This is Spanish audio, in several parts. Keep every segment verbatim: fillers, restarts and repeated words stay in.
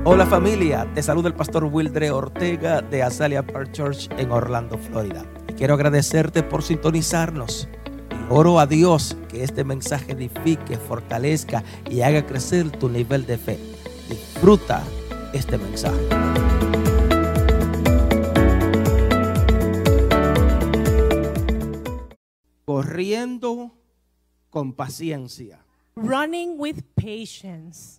Hola familia, te saluda el pastor Wildre Ortega de Azalea Park Church en Orlando, Florida. Y quiero agradecerte por sintonizarnos. Y oro a Dios que este mensaje edifique, fortalezca y haga crecer tu nivel de fe. Disfruta este mensaje. Corriendo con paciencia. Running with patience.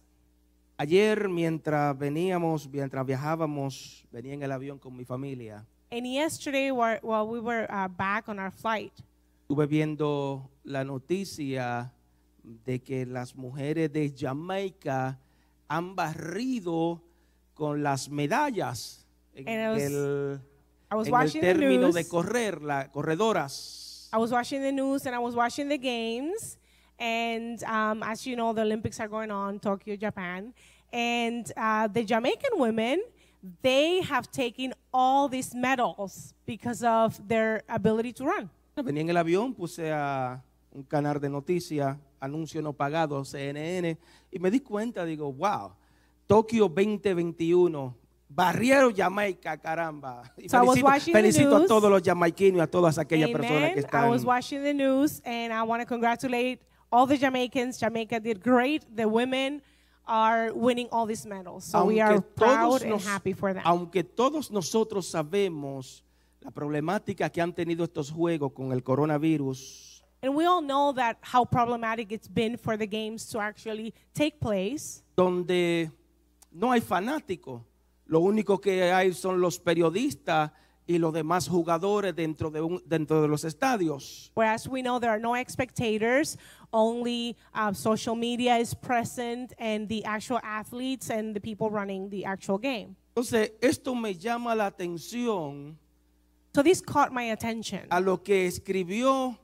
Ayer mientras veníamos, mientras viajábamos, venía en el avión con mi familia. And yesterday, while while we were uh, back on our flight, Estuve viendo la noticia de que las mujeres de Jamaica han barrido con las medallas en And I was- el, I was en el watching the término news. de correr, las corredoras. I was watching the news and I was watching the games. And um, as you know, the Olympics are going on, Tokyo, Japan. And uh, the Jamaican women, they have taken all these medals because of their ability to run. Venía en el avión, puse a un canal de noticias, anuncio no pagado, C N N, y me di cuenta, digo, wow, Tokio veinte veintiuno, barrieron Jamaica, caramba. Y So I was felicito, watching the felicito a news. todos los jamaiquinos y a todas aquellas personas que Amen. I están. was watching the news and I want to congratulate all the Jamaicans. Jamaica did great. The women are winning all these medals. So we are proud and happy for them. Aunque todos nosotros sabemos la problemática que han tenido estos juegos con el coronavirus, And we all know that how problematic it's been for the games to actually take place, donde no hay fanáticos, lo único que hay son los periodistas y los demás jugadores dentro de, un, dentro de los estadios. whereas we know there are no spectators, only uh, social media is present and the actual athletes and the people running the actual game. Entonces, esto me llama la atención So this caught my attention. a lo que escribió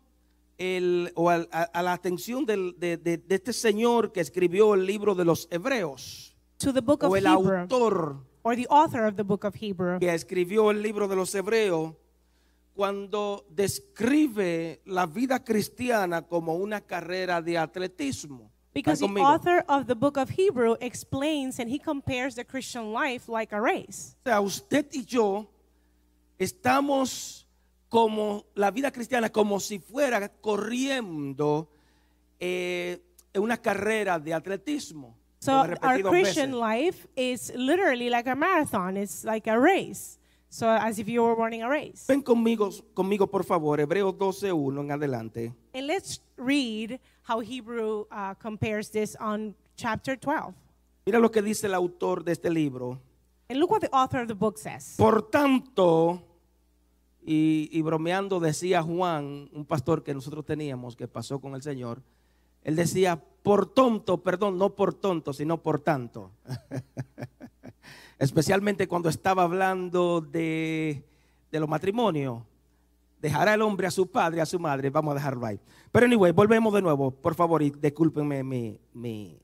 el, o a, a- a la atención del- de, de- de este señor que escribió el libro de los Hebreos, To the book of o el Hebrew, autor or the author of the book of Hebrew. que escribió el libro de los Hebreos, cuando describe la vida cristiana como una carrera de atletismo. Because the ¿Están conmigo? author of the book of Hebrew explains and he compares the Christian life like a race. O sea, usted y yo estamos como la vida cristiana, como si fuera corriendo eh, en una carrera de atletismo. So Lo he repetido our dos Christian veces. life is literally like a marathon. It's like a race. So as if you were running a race. Ven conmigo, conmigo por favor, Hebreos doce uno en adelante. And let's read how Hebrew uh, compares this on chapter twelve. Mira lo que dice el autor de este libro. And look what the author of the book says. Por tanto, y, y bromeando decía Juan, un pastor que nosotros teníamos que pasó con el Señor, él decía, por tonto, perdón, no por tonto, sino por tanto. Especialmente cuando estaba hablando de, de los matrimonios. Dejará el hombre a su padre, a su madre, vamos a dejarlo ahí. Pero anyway, volvemos de nuevo, por favor, y discúlpenme mi, mi,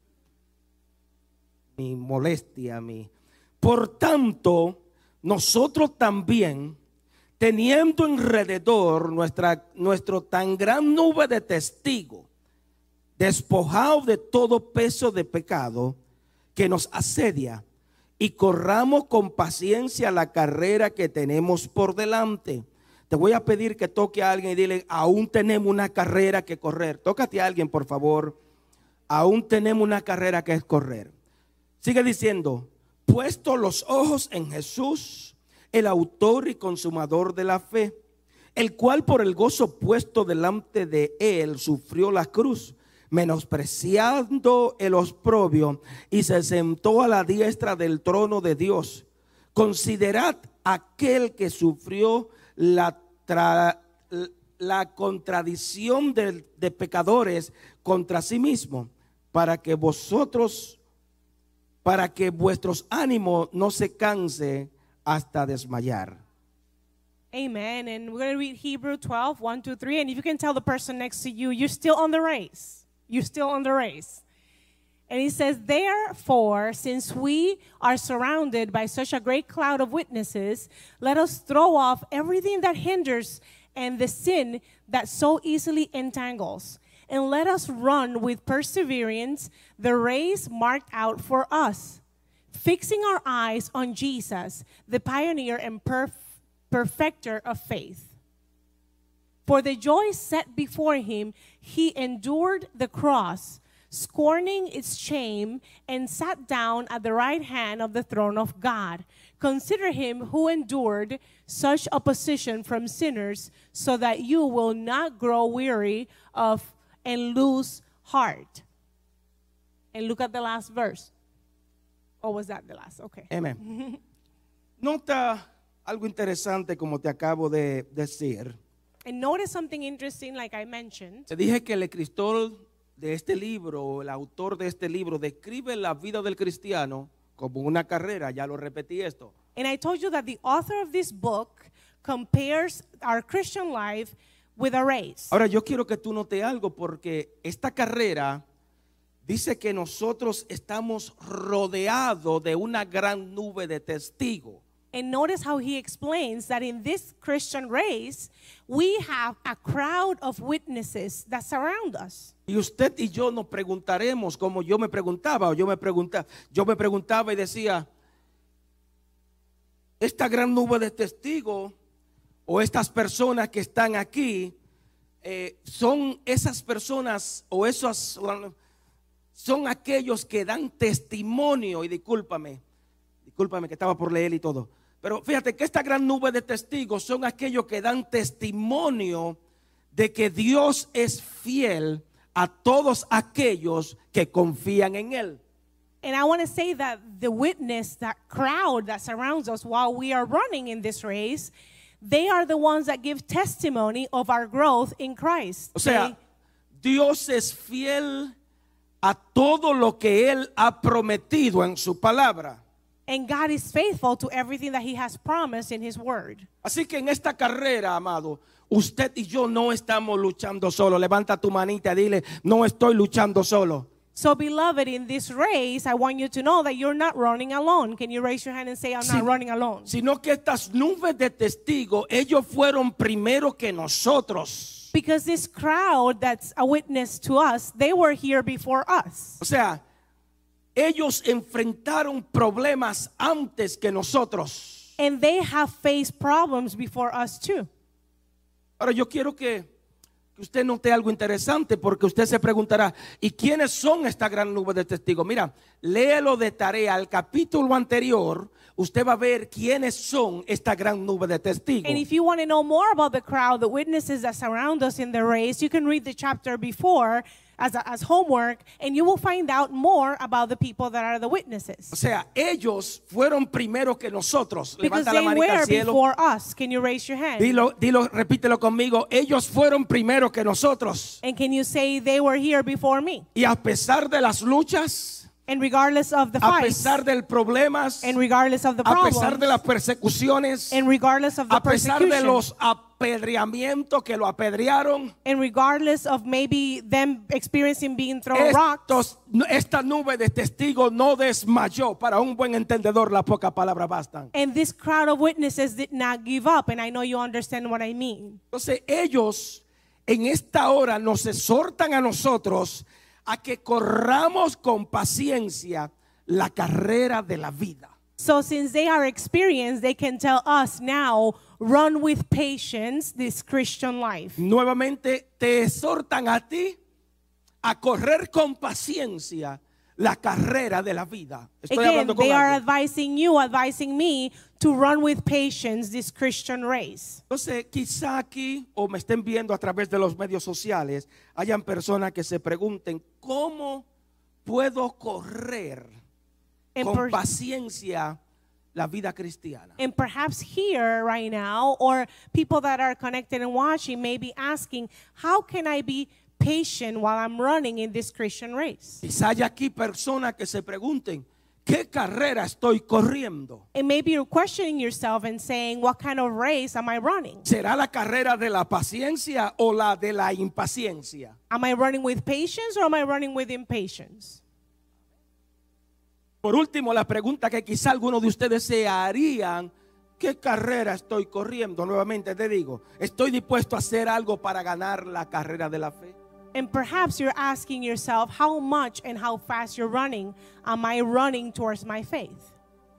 mi molestia, mi... Por tanto, nosotros también, teniendo alrededor nuestra, nuestro tan gran nube de testigos, despojados de todo peso de pecado que nos asedia, y corramos con paciencia la carrera que tenemos por delante. Te voy a pedir que toque a alguien y dile, aún tenemos una carrera que correr. Tócate a alguien, por favor. Aún tenemos una carrera que correr. Sigue diciendo, puesto los ojos en Jesús, el autor y consumador de la fe, el cual por el gozo puesto delante de él sufrió la cruz, menospreciando el oprobio, y se sentó a la diestra del trono de Dios. Considerad aquel que sufrió la, tra, la contradicción de, de pecadores contra sí mismo, para que vosotros, para que vuestros ánimos no se canse hasta desmayar. Amen. And we're going to read Hebrew twelve, one, two, three. And if you can tell the person next to you, you're still on the race. You're still on the race. And he says, therefore, since we are surrounded by such a great cloud of witnesses, let us throw off everything that hinders and the sin that so easily entangles. And let us run with perseverance the race marked out for us, fixing our eyes on Jesus, the pioneer and perf- perfecter of faith. For the joy set before him, he endured the cross, scorning its shame, and sat down at the right hand of the throne of God. Consider him who endured such opposition from sinners, so that you will not grow weary of and lose heart. And look at the last verse. Or was that the last? Okay. Amén. Nota algo interesante como te acabo de decir. And notice something interesting, like I mentioned. Te dije que el escritor de este libro, el autor de este libro, describe la vida del cristiano como una carrera. Ya lo repetí esto. And I told you that the author of this book compares our Christian life with a race. Ahora yo quiero que tú notes algo, porque esta carrera dice que nosotros estamos rodeados de una gran nube de testigos. And notice how he explains that in this Christian race, we have a crowd of witnesses that surround us. Y usted y yo nos preguntaremos, como yo me preguntaba, o yo me preguntaba, yo me preguntaba y decía, esta gran nube de testigos o estas personas que están aquí, eh, son esas personas o esos, son aquellos que dan testimonio, y discúlpame, discúlpame que estaba por leer y todo, pero fíjate que esta gran nube de testigos son aquellos que dan testimonio de que Dios es fiel a todos aquellos que confían en Él. And I want to say that the witness, that crowd that surrounds us while we are running in this race, they are the ones that give testimony of our growth in Christ. O sea, They, Dios es fiel a todo lo que Él ha prometido en su palabra. and God is faithful to everything that he has promised in his word. Así que en esta carrera, amado, usted y yo no estamos luchando solo. Levanta tu manita y dile, no estoy luchando solo. So, beloved, in this race, I want you to know that you're not running alone. Can you raise your hand and say, I'm Sí. not running alone? Sino que estas nubes de testigos, ellos fueron primero que nosotros. Because this crowd that's a witness to us, they were here before us. O sea, ellos enfrentaron problemas antes que nosotros. And they have faced problems before us too. Ahora yo quiero que, que usted note algo interesante, porque usted se preguntará, ¿y quiénes son esta gran nube de testigos? Mira, léelo de tarea, al capítulo anterior, usted va a ver quiénes son esta gran nube de testigos. And if you want to know more about the crowd, the witnesses that surround us in the race, you can read the chapter before as, a, as homework, and you will find out more about the people that are the witnesses. O sea, ellos fueron primero que nosotros. Because Levanta la they manita al were cielo. before us. Can you raise your hand? Dilo, dilo, repítelo conmigo. Ellos fueron primero que nosotros. And can you say they were here before me? Y a pesar de las luchas, And regardless of the a fights, pesar de los problemas, and regardless of the a pesar problems, de las persecuciones, and regardless of the a pesar de persecution, los apedreamientos que lo apedrearon, and regardless of maybe them experiencing being thrown rocks, estos, esta nube de testigos no desmayó. Para un buen entendedor, las pocas palabras bastan. and this crowd of witnesses did not give up, and I know you understand what I mean. Entonces ellos en esta hora nos exhortan a nosotros a que corramos con paciencia la carrera de la vida. So since they are experienced, they can tell us now, run with patience this Christian life. Nuevamente te exhortan a ti a correr con paciencia la carrera de la vida. Estoy Again, hablando con they are alguien. advising you, advising me to run with patience this Christian race. Entonces, quizá aquí, o me estén viendo a través de los medios sociales, hayan personas que se pregunten, ¿cómo puedo correr And, con per- paciencia la vida cristiana? and perhaps here right now, or people that are connected and watching may be asking, how can I be patient while I'm running in this Christian race? Quizá hay aquí personas que se pregunten, ¿qué carrera estoy corriendo? And maybe you're questioning yourself and saying, what kind of race am I running? ¿Será la carrera de la paciencia o la de la impaciencia? Am I running with patience or am I running with impatience? Por último, la pregunta que quizá algunos de ustedes se harían, ¿qué carrera estoy corriendo? Nuevamente te digo, ¿estoy dispuesto a hacer algo para ganar la carrera de la fe? And perhaps you're asking yourself, how much and how fast you're running? Am I running towards my faith?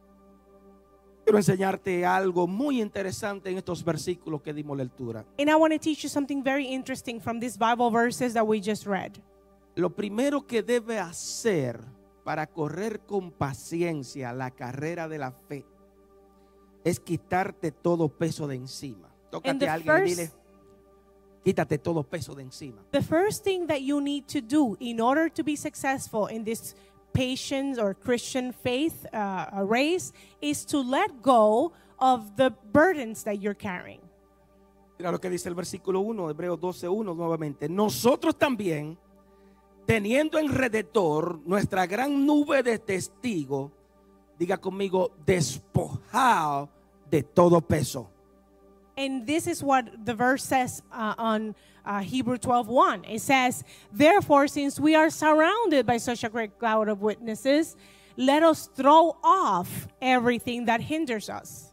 Quiero enseñarte algo muy interesante en estos versículos que dimos lectura. And I want to teach you something very interesting from these Bible verses that we just read. Lo primero que debe hacer para correr con paciencia la carrera de la fe es quitarte todo peso de encima. Tócate a alguien y dile, quítate todo peso de encima. The first thing that you need to do in order to be successful in this patience or Christian faith uh, race is to let go of the burdens that you're carrying. Mira lo que dice el versículo uno, Hebreos doce uno nuevamente. Nosotros también, teniendo en rededor nuestra gran nube de testigos, diga conmigo, despojado de todo peso. And this is what the verse says uh, on uh, Hebrew twelve one. It says, therefore, since we are surrounded by such a great cloud of witnesses, let us throw off everything that hinders us.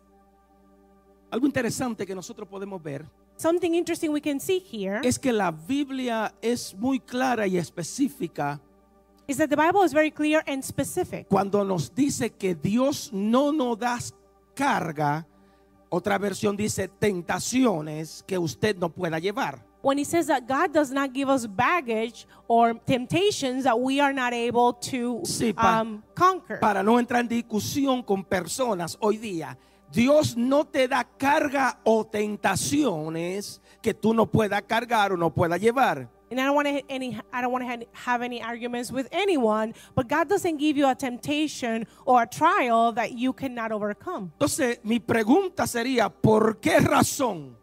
Algo interesante que nosotros podemos ver Something interesting we can see here es que la Biblia es muy clara y específica is that the Bible is very clear and specific. cuando nos dice que Dios no nos da carga. Otra versión dice tentaciones que usted no pueda llevar. When he says that God does not give us baggage or temptations that we are not able to Sí, pa- um, conquer. Para no entrar en discusión con personas hoy día, Dios no te da carga o tentaciones que tú no puedas cargar o no puedas llevar. And I don't want to any I don't want to have any arguments with anyone, but God doesn't give you a temptation or a trial that you cannot overcome. Entonces, mi pregunta sería, ¿por qué razón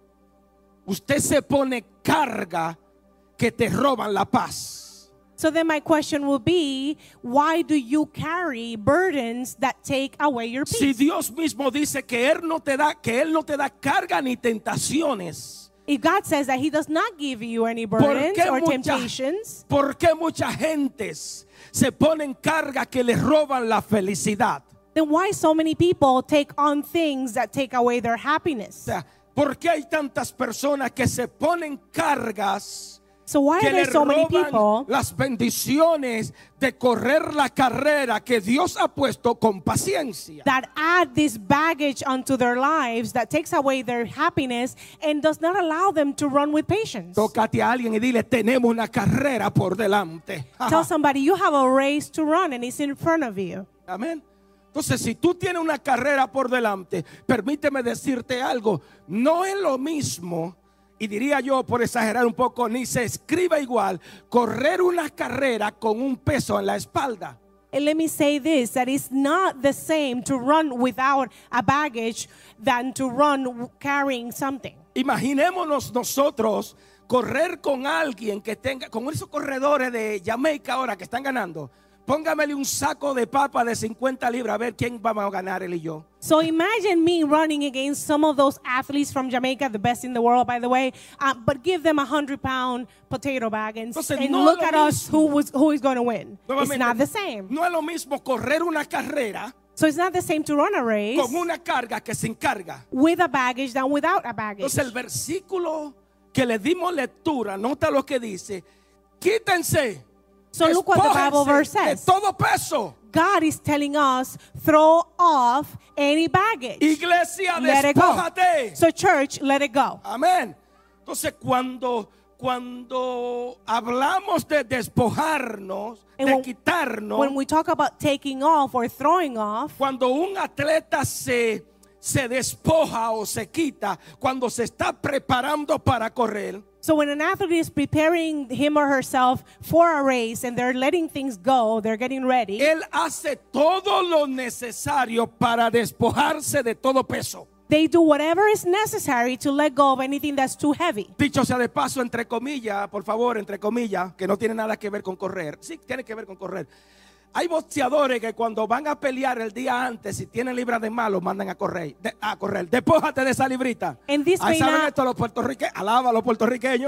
usted se pone carga que te roban la paz? So then my question will be, why do you carry burdens that take away your peace? Si Dios mismo dice que él no te da que él no te da carga ni tentaciones, If God says that he does not give you any ¿por burdens qué or mucha- temptations, ¿por qué mucha gentes se ponen carga que les roban la felicidad? then why so many people take on things that take away their O happiness? sea, ¿por qué hay tantas personas que se ponen cargas So why que are le there so many roban people las bendiciones de correr la carrera que Dios ha puesto con paciencia? that add this baggage onto their lives that takes away their happiness and does not allow them to run with patience? Tócate a alguien y dile, tenemos una carrera por delante. Tell somebody you have a race to run and it's in front of you. Amén. Entonces, si tú tienes una carrera por delante, permíteme decirte algo, no es lo mismo, y diría yo, por exagerar un poco, ni se escribe igual, correr una carrera con un peso en la espalda. And let me say this, that it's not the same to run without a baggage than to run w- carrying something. Imaginémonos nosotros correr con alguien que tenga, con esos corredores de Jamaica ahora que están ganando. Póngamele un saco de papa de cincuenta libras a ver quién vamos a ganar, él y yo. So imagine me running against some of those athletes from Jamaica, the best in the world, by the way, uh, but give them a hundred pound potato bag and, Entonces, and no look es at lo us mismo. who, was, who is going to win. It's Nuevamente, not the same. No es lo mismo correr una carrera So it's not the same to run a race con una carga que sin carga. with a baggage than without a baggage. Entonces el versículo que le dimos lectura, nota lo que dice, quítense, So look what the Bible verse despójense de says. todo peso. God is telling us, throw off any baggage. Iglesia, Let it go. despójate. So church, let it go. Amén. Entonces cuando cuando hablamos de despojarnos, And de when- quitarnos, When we talk about taking off or throwing off, cuando un atleta se se despoja o se quita, cuando se está preparando para correr, so when an athlete is preparing him or herself for a race and they're letting things go, they're getting ready, él hace todo lo necesario para despojarse de todo peso. they do whatever is necessary to let go of anything that's too heavy. Dicho sea de paso, entre comillas, por favor, entre comillas, que no tiene nada que ver con correr. Sí, tiene que ver con correr. Hay boxeadores que cuando van a pelear el día antes, si tienen libras de más, los mandan a correr. De, a correr. Despójate de esa librita. And this Ahí may saben not- esto los puertorriqueños. Alaba a los puertorriqueños.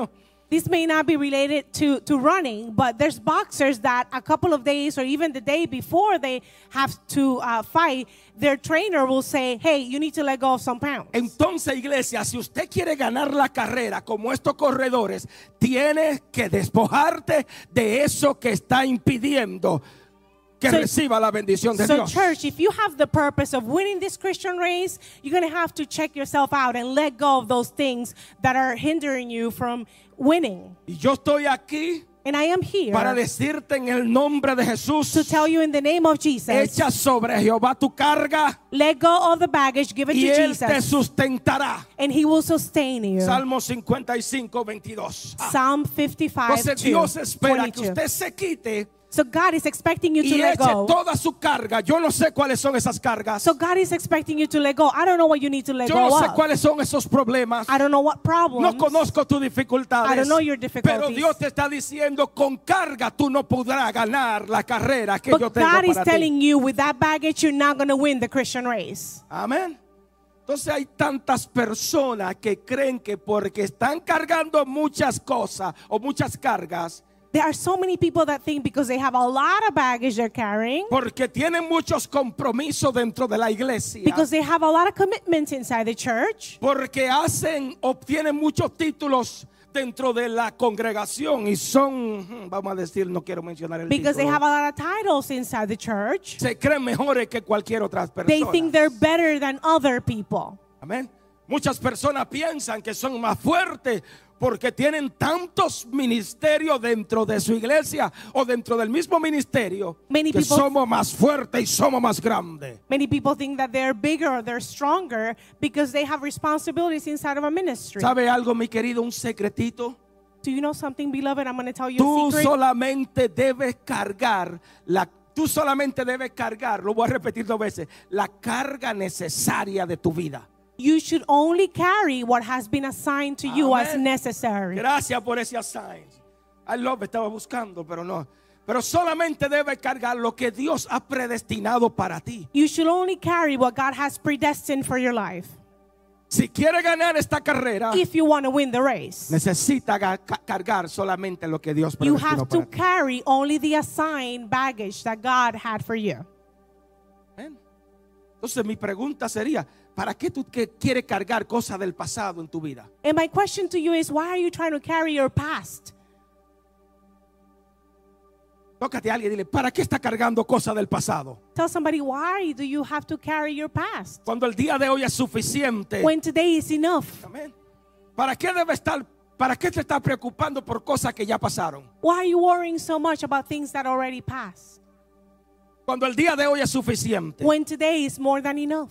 This may not be related to, to running, but there's boxers that a couple of days or even the day before they have to uh, fight, their trainer will say, hey, you need to let go of some pounds. Entonces, iglesia, si usted quiere ganar la carrera como estos corredores, tiene que despojarte de eso que está impidiendo que So- reciba la bendición de So Dios. church, if you have the purpose of winning this Christian race, you're going to have to check yourself out and let go of those things that are hindering you from winning. Y yo estoy aquí And I am here para decirte en el nombre de Jesús, to tell you in the name of Jesus, echa sobre Jehová tu carga let go of the baggage, give it y to Él te Jesus, sustentará. and He will sustain you. Salmo cincuenta y cinco, veintidós. Ah, Psalm fifty-five, entonces Dios espera que twenty-two. usted se quite So God is expecting you to y let eche go. toda su carga. Yo no sé cuáles son esas cargas. So God is expecting you to let go. I don't know what you need to let Yo go no sé of. cuáles son esos problemas. I don't know what problems. No conozco tus dificultades. I don't know your difficulties. Pero Dios te está diciendo, con carga tú no podrás ganar la carrera que But yo tengo God is para ti. telling you, with that baggage, you're not going to win the Christian race. Amén. Entonces hay tantas personas que creen que porque están cargando muchas cosas o muchas cargas, There are so many people that think because they have a lot of baggage they're carrying, porque tienen muchos compromisos dentro de la iglesia, because they have a lot of commitments inside the church, porque hacen, obtienen muchos títulos dentro de la congregación y son, vamos a decir, no quiero mencionar el because they título, have a lot of titles inside the church. se creen mejores que cualquier otra They persona. think they're better than other people. Amén. Muchas personas piensan que son más fuertes porque tienen tantos ministerios dentro de su iglesia o dentro del mismo ministerio Many que people- somos más fuertes y somos más grandes. Many people think that they're bigger or they're stronger because they have responsibilities inside of a ministry. ¿Sabe algo, mi querido? Un secretito. Do you know something, beloved? I'm going to tell you Tú a secret. solamente debes cargar la Tú solamente debes cargar, lo voy a repetir dos veces, la carga necesaria de tu vida. You should only carry what has been assigned to you as Amén. necessary. Gracias por ese assign. I love, estaba buscando, pero no. Pero solamente debes cargar lo que Dios ha predestinado para ti. You should only carry what God has predestined for your life. Si quiere ganar esta carrera, If you want to win the race, necesita ga- ca- cargar solamente lo que Dios you predestinó have to para ti. carry only the assigned baggage that God had for you. Amén. Entonces mi pregunta sería, ¿para qué tú que- quieres cargar cosas del pasado en tu vida? And my question to you is, why are you trying to carry your past? Tócate a alguien y dile, ¿para qué está cargando cosas del pasado? Tell somebody, why do you have to carry your past Cuando el día de hoy es suficiente. when today is enough? Amén. ¿Para qué debe estar, para qué te estás preocupando por cosas que ya pasaron? Why are you worrying so much about things that already passed Cuando el día de hoy es suficiente. when today is more than enough?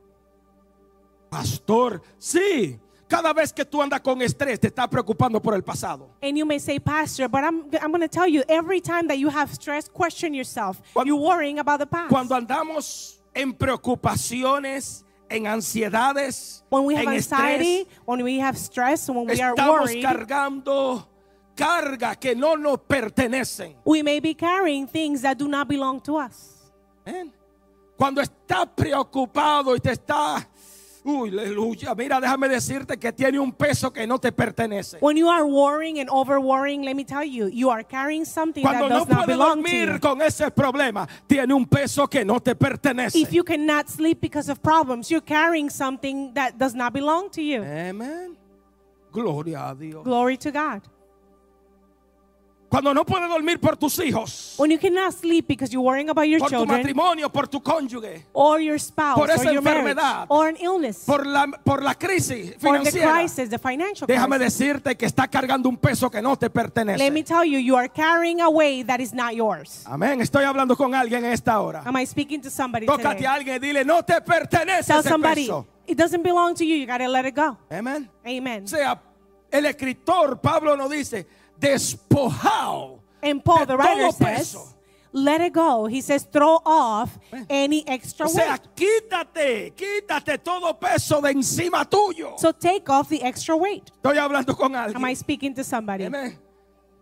Pastor, sí. Cada vez que tú andas con estrés, te estás preocupando por el pasado. And you may say, Pastor, but I'm, I'm going to tell you, every time that you have stress, question yourself. Cuando- You're worrying about the past. Cuando andamos en preocupaciones, en ansiedades, When we have en anxiety, estrés, when we have stress, when we are estamos worried, cargando carga que no nos pertenecen. we may be carrying things that do not belong to us. Amén. Cuando estás preocupado y te está, uy, aleluya, mira, déjame decirte que tiene un peso que no te pertenece. When you are worrying and over worrying, let me tell you, you are carrying something Cuando that no does not puedes belong to dormir you. con ese problema, tiene un peso que no te pertenece. If you cannot sleep because of problems, you're carrying something that does not belong to you. Amén. Gloria a Dios. Glory to God. Cuando no puedes dormir por tus hijos, When you cannot sleep because you're worrying about your por tu children matrimonio, por tu cónyuge, or your spouse por esa or your marriage enfermedad, or an illness por la, por la crisis or the financiera, crisis, the financial déjame crisis. decirte que está cargando un peso que no te pertenece. Let me tell you, you are carrying a weight that is not yours. Amén. Estoy hablando con alguien en esta hora. Am I speaking to somebody Tócate today? a alguien y dile, no te pertenece Tell ese somebody, peso. it doesn't belong to you. You got to let it go. Amén. Amen. O sea, el escritor Pablo nos dice, despojado And Paul, de the writer, todo says, peso. let it go. He says, throw off any extra O sea, weight. quítate, quítate todo peso de encima tuyo. So take off the extra weight. Estoy hablando con Am I alguien. speaking to somebody? Amén.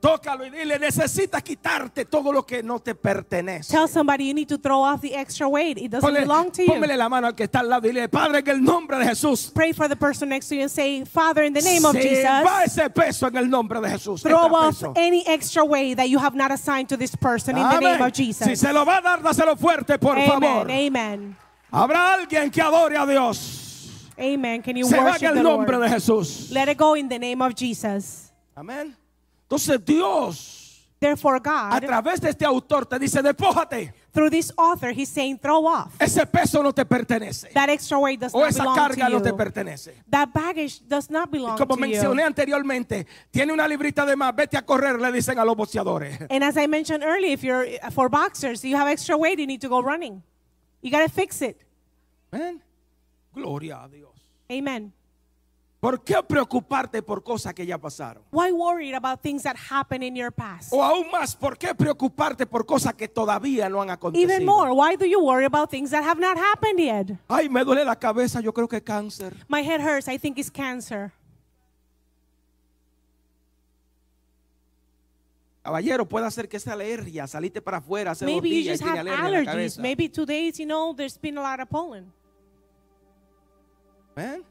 Tócalo y dile, necesitas quitarte todo lo que no te pertenece. Tell somebody you need to throw off the extra weight. It doesn't Ponle, belong to you. póngale la mano al que está al lado y dile, Padre, en el nombre de Jesús, Pray for the person next to you and say, Father, in the name of se Jesus, va ese peso en el nombre de Jesús. throw Este off peso. any extra weight that you have not assigned to this person in the Amén. name of Jesus. Si se lo va a dar, dáselo fuerte, por favor. Amen. Amen. Habrá alguien que adore a Dios. Amen. Can you Se va en worship el the nombre Lord? de Jesús. Let it go in the name of Jesus. Amén. Entonces Dios, Therefore, a God, través de este autor, te dice, despójate. through this author, he's saying, throw off. Ese peso no te pertenece. That extra weight does O not esa belong carga to no te you. pertenece. That baggage does not belong Como to mencioné you. anteriormente, tiene una librita de más, vete a correr, le dicen a los boxeadores. And as I mentioned earlier, if you're for boxers, you have extra weight, you need to go running. You got to fix it. Amén. Gloria a Dios. Amen. ¿Por qué preocuparte por cosas que ya pasaron? Why worried about things that happened in your past? O aún más, ¿por qué preocuparte por cosas que todavía no han acontecido? Even more, why do you worry about things that have not happened yet? Ay, me duele la cabeza, yo creo que es cáncer. My head hurts, I think it's cancer. Caballero, puede hacer que esa alergia, saliste para afuera hace Maybe dos you días just y tiene have alergia en la allergies. cabeza. Maybe two days, you know, there's been a lot of pollen. ¿Ven?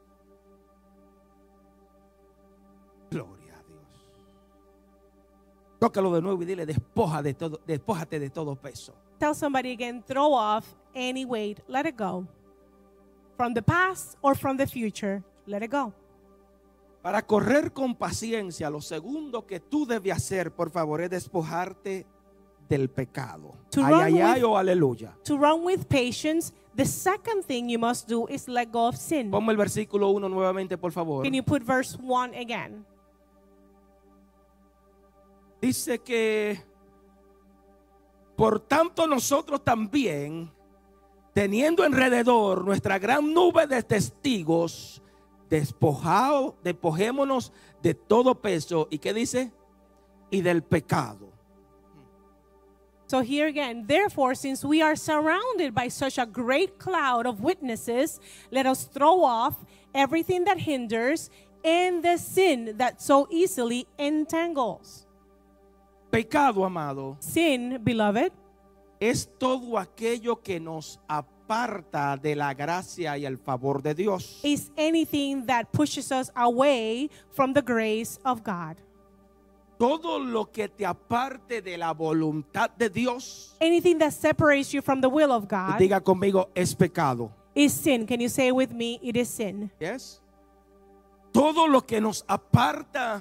Gloria a Dios. Tócalo de nuevo y dile, despoja de todo, despójate de todo peso. Tell somebody again, throw off any weight, let it go. From the past or from the future, let it go. Para correr con paciencia, lo segundo que tú debes hacer, por favor, es despojarte del pecado. To Ay, run ay, ay, with- o aleluya. To run with patience, the second thing you must do is let go of sin. Ponme el versículo uno nuevamente, por favor. Can you put verse one again? Dice que, por tanto nosotros también, teniendo alrededor nuestra gran nube de testigos, despojado, despojémonos de todo peso. ¿Y qué dice? Y del pecado. So here again, therefore, since we are surrounded by such a great cloud of witnesses, let us throw off everything that hinders and the sin that so easily entangles. Pecado, amado, Sin, beloved, es todo aquello que nos aparta de la gracia y el favor de Dios. is anything that pushes us away from the grace of God. Todo lo que te aparte de la voluntad de Dios, Anything that separates you from the will of God diga conmigo, es pecado. is sin. Can you say with me, it is sin? Yes. Todo lo que nos aparta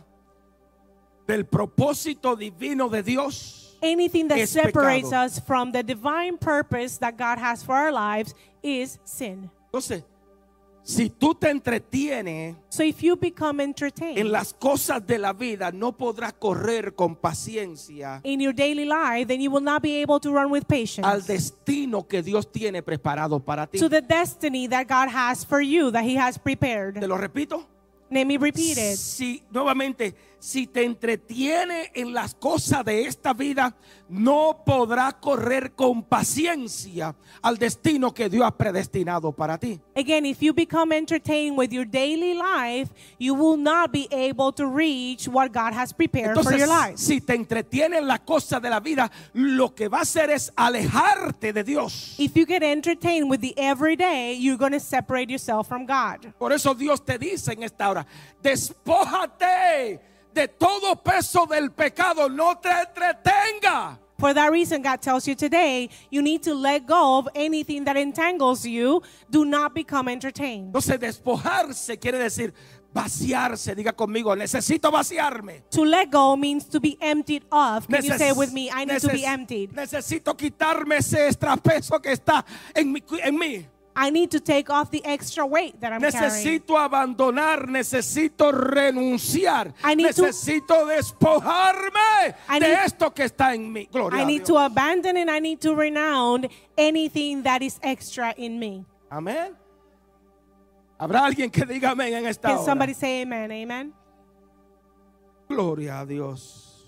del propósito divino de Dios Anything that es separates pecado. us from the divine purpose that God has for our lives is sin. Entonces, si tú te entretienes So if you become entertained en las cosas de la vida, no podrás correr con paciencia in your daily life, then you will not be able to run with patience al destino que Dios tiene preparado para ti. to the destiny that God has for you, that He has prepared. Te lo repito. Let me repeat it. Si nuevamente, si te entretiene en las cosas de esta vida, no podrás correr con paciencia al destino que Dios ha predestinado para ti. Again, if you become entertained with your daily life, you will not be able to reach what God has prepared for your Entonces, life. si te entretiene en las cosas de la vida, lo que va a hacer es alejarte de Dios. If you get entertained with the everyday, you're going to separate yourself from God. Por eso Dios te dice en esta hora, despójate de todo peso del pecado, no te entretenga. For that reason, God tells you today, you need to let go of anything that entangles you. Do not become entertained. Entonces despojarse quiere decir vaciarse. Diga conmigo, necesito vaciarme. To let go means to be emptied of. Can you Neces- say with me, I need to be neces- emptied. Necesito quitarme ese extrapeso que está en mi, en mí. I need to take off the extra weight that I'm carrying. Necesito abandonar, necesito renunciar, I need to- necesito despojarme I de need- esto que está en mí. Gloria I a need Dios. to abandon and I need to renounce anything that is extra in me. Amén. Habrá alguien que diga amén en esta Can hora. somebody say amen? Amen. Gloria a Dios.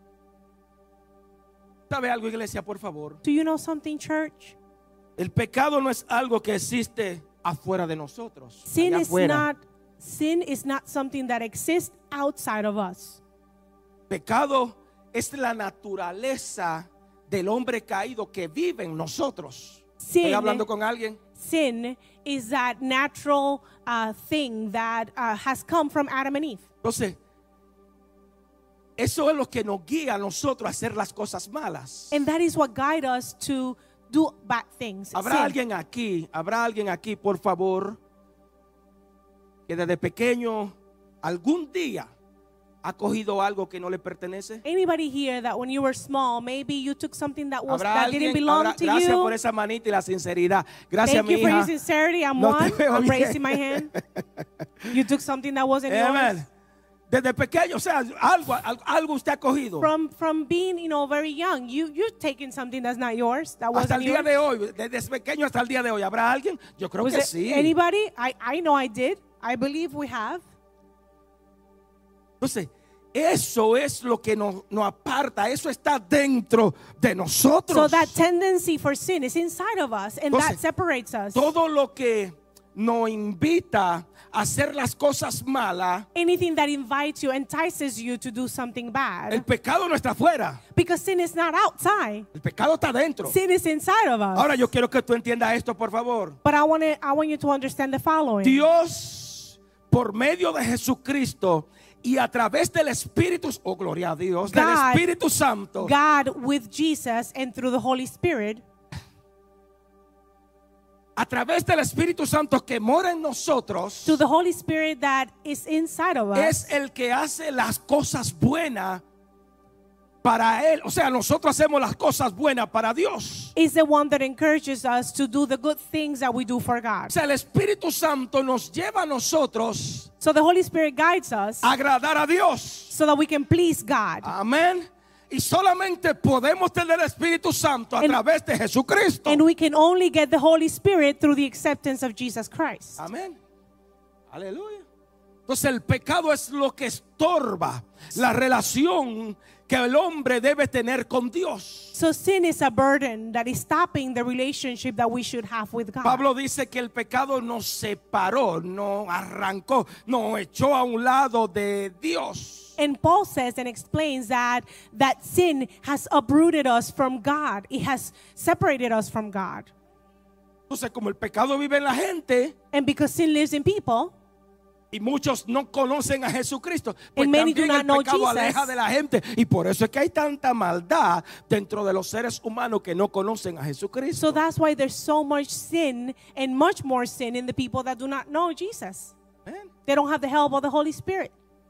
¿Sabe algo, iglesia, por favor? Do you know something, church? El pecado no es algo que existe afuera de nosotros. Sin allá is afuera. not sin is not something that exists outside of us. pecado es la naturaleza del hombre caído que vive en nosotros. Sin- ¿Estoy hablando con alguien? Sin is that natural uh, thing that uh, has come from Adam and Eve. Entonces, eso es lo que nos guía a nosotros a hacer las cosas malas. And that is what guides us to do bad things. ¿Habrá sin. alguien aquí, habrá alguien aquí, por favor, que desde pequeño algún día ha cogido algo que no le pertenece? Anybody here that when you were small, maybe you took something that was ¿Habrá that didn't alguien? belong Habrá- to gracias you? por esa manita y la sinceridad. Gracias, Thank mi you for your hija. sincerity. I'm No te one. veo I'm bien. raising my hand. You took something that wasn't Amen. yours. Desde pequeño, o sea, algo, algo, algo usted ha cogido. From from being, you know, very young, you you've taken something that's not yours. That Hasta wasn't el día yours. de hoy, desde pequeño hasta el día de hoy, ¿habrá alguien? Yo creo Was que it sí. anybody? I I know I did. I believe we have. Entonces, eso es lo que nos, nos aparta, eso está dentro de nosotros. So that tendency for sin is inside of us, and that Entonces, separates us. Todo lo que nos invita a hacer las cosas malas, Anything that invites you, entices you to do something bad, el pecado no está afuera, because sin is not outside. el pecado está dentro. Sin is inside of us. Ahora yo quiero que tú entiendas esto, por favor. But I want to I want you to understand the following. Dios, por medio de Jesucristo y a través del Espíritu, oh gloria a Dios, del God- Espíritu Santo, God with Jesus and through the Holy Spirit, a través del Espíritu Santo que mora en nosotros, to the Holy Spirit that is inside of us, es el que hace las cosas buenas para Él. O sea, nosotros hacemos las cosas buenas para Dios. is the one that encourages us to do the good things that we do for God. O sea, el Espíritu Santo nos lleva a nosotros So the Holy Spirit guides us a agradar a Dios. so that we can please God. Amén. Y solamente podemos tener el Espíritu Santo a And- través de Jesucristo. And we can only get the Holy Spirit through the acceptance of Jesus Christ. Amén. Aleluya. Entonces el pecado es lo que estorba la relación que el hombre debe tener con Dios. So sin is a burden that is stopping the relationship that we should have with God. Pablo dice que el pecado nos separó, nos arrancó, nos echó a un lado de Dios. And Paul says and explains that that sin has uprooted us from God. It has separated us from God. Entonces, como el pecado vive en la gente And because sin lives in people, y muchos no conocen a Jesucristo, pues And many do también not el know pecado Jesus. aleja de la gente. Y por eso es que hay tanta maldad dentro de los seres humanos que no conocen a Jesucristo. so that's why there's so much sin and much more sin in the people that do not know Jesus. Amén. They don't have the help of the Holy Spirit.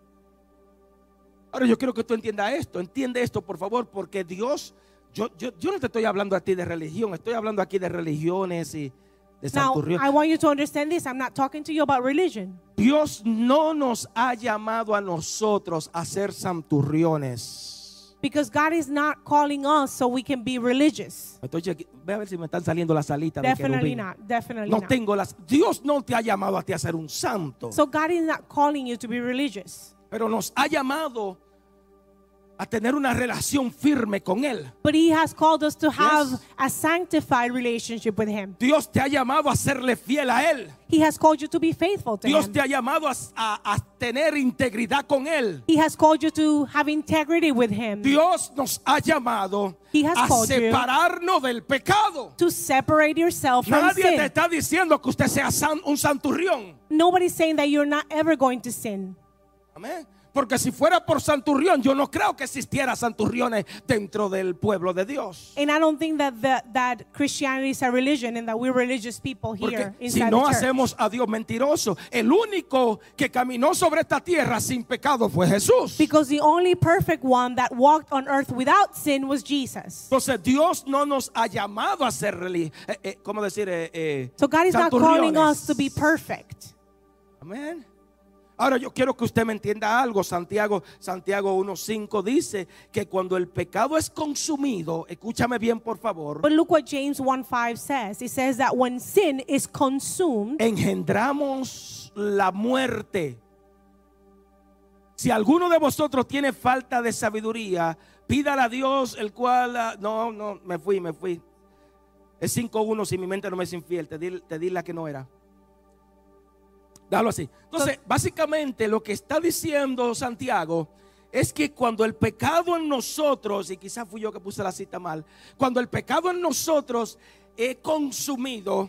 Ahora yo quiero que tú entiendas esto, entiende esto por favor, porque Dios, yo, yo, yo no te estoy hablando a ti de religión, estoy hablando aquí de religiones y de Now, santurrión. I want you to understand this. I'm not talking to you about religion. Dios no nos ha llamado a nosotros a ser santurriones. Because God is not calling us so we can be religious. Estoy cheque- Ve a ver si me están saliendo las alitas de Definitely querubín. not. Definitely No not. tengo las. Dios no te ha llamado a ti a ser un santo, So God is not calling you to be religious. pero nos ha llamado a tener una relación firme con Él. But He has called us to have Yes. a sanctified relationship with Him. Dios te ha llamado a serle fiel a Él. He has called you to be faithful to Dios Him. te ha llamado a, a- a tener integridad con Él. He has called you to have integrity with Him. Dios nos ha llamado He has a called you separarnos del pecado. to separate yourself from Nadie te sin. está diciendo que usted sea san- un santurrión. Nobody's saying that you're not ever going to sin. Amén. Porque si fuera por santurrión, yo no creo que existiera santurriones dentro del pueblo de Dios. And I don't think that the, that Christianity is a religion and that we're religious people Porque here si inside no the church. hacemos a Dios mentiroso, el único que caminó sobre esta tierra sin pecado fue Jesús. Because the only perfect one that walked on earth without sin was Jesus. Entonces Dios no nos ha llamado a ser religiosos. Eh, eh, ¿Cómo decir? Eh, eh, So God is not calling santurriones. us to be perfect. Amén. Ahora yo quiero que usted me entienda algo. Santiago, Santiago uno cinco dice que cuando el pecado es consumido, escúchame bien por favor, But look what James one five says. It says that when sin is consumed, engendramos la muerte. Si alguno de vosotros tiene falta de sabiduría, pídala a Dios, el cual, ah, no, no, me fui, me fui. Es cinco uno, si mi mente no me es infiel, te di, te di la que no era. Déjalo así. Entonces, básicamente lo que está diciendo Santiago es que cuando el pecado en nosotros, y quizás fui yo que puse la cita mal, cuando el pecado en nosotros es consumido,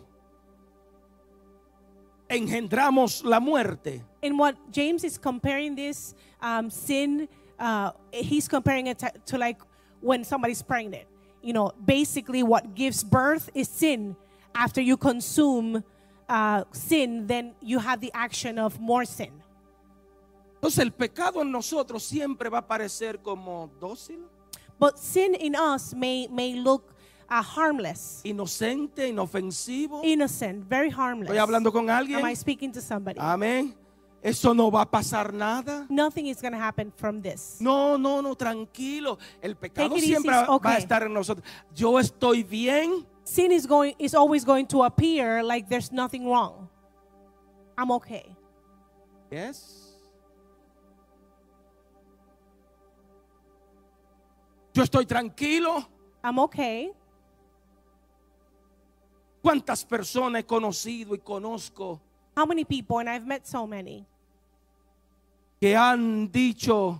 engendramos la muerte. And what James is comparing this um, sin, uh, he's comparing it to, to like when somebody's pregnant. You know, basically what gives birth is sin. After you consume uh, sin, then you have the action of more sin. Entonces el pecado en nosotros siempre va a parecer como dócil, But sin in us may, may look uh, harmless, inocente, inofensivo. innocent, very harmless. Estoy hablando con alguien. Am I speaking to somebody? Amén. Eso no va a pasar nada. Nothing is going to happen from this. No, no, no, tranquilo. El pecado Take it easy, siempre it's va okay. a estar en nosotros. Yo estoy bien. Sin is going is always going to appear like there's nothing wrong. I'm okay. Yes. Yo estoy tranquilo. I'm okay. ¿Cuántas personas he conocido y conozco How many people, and I've met so many, que han dicho,